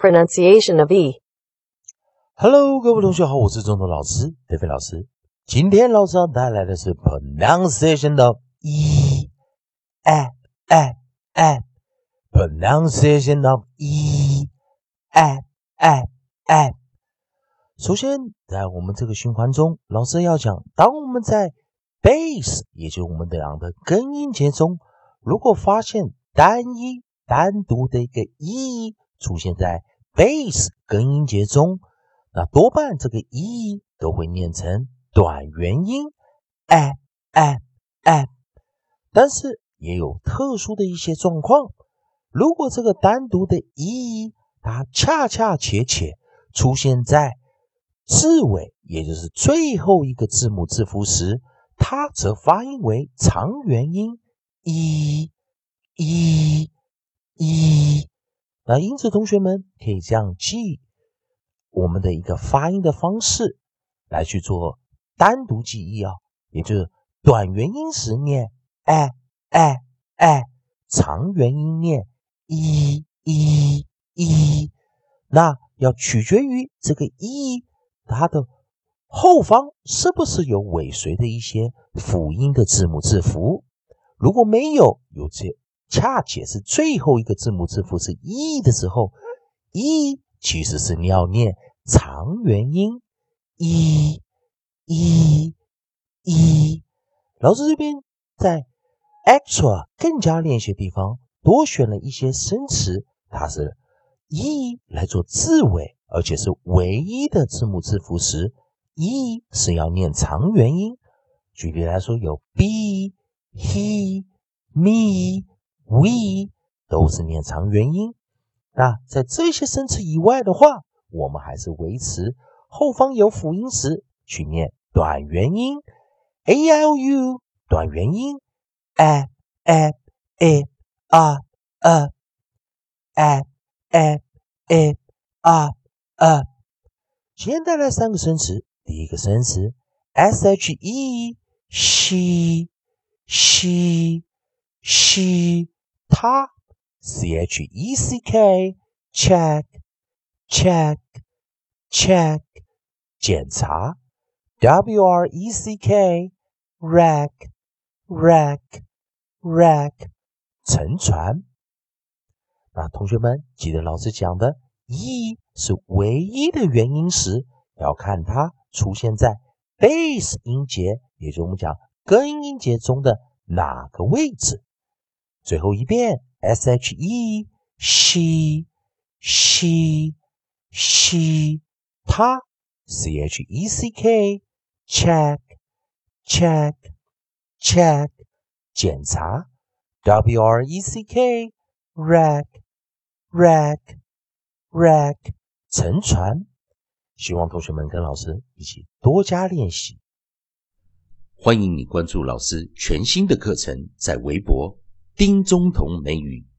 pronunciation of E. Hello， 各位同学好，我是中通老师德飞老师。今天老师要带来的是 pronunciation of E， pronunciation of E， 首先，在我们这个循环中，老师要讲，当我们在 base， 也就是我们讲的根音节中，如果发现单独的一个 E 出现在 base 根音节中，那多半这个 E 都会念成短元音 但是也有特殊的一些状况，如果这个单独的 E 它恰切出现在字尾，也就是最后一个字母字符时，它则发音为长元音 E。那因此同学们可以这样记我们的一个发音的方式来去做单独记忆也就是短元音时念长元音念一，那要取决于这个一它的后方是不是有尾随的一些辅音的字母字符，如果没有这恰且是最后一个字母字符是 E 的时候， E 其实是你要念长元音 E。老师这边在 extra 更加练习的地方多选了一些生词，它是 E 来做字尾，而且是唯一的字母字符时， E 是要念长元音。举例来说，有 be he me we 都是念长元音。那在这些生词以外的话，我们还是维持后方有辅音时去念短元音 A I O U 短元音 a今天带来三个生词，第一个生词 SHE she 他 CHECK check 检查 WRECK rack 沉船。那同学们记得老师讲的 E 是唯一的元音时，要看它出现在 base 音节，也就是我们讲根音节中的哪个位置。最后一遍 SHE she 他 CHECK check 检查 WRECK rack 沉船。希望同学们跟老师一起多加练习。 欢迎你关注老师全新的课程，在微博丁中同美语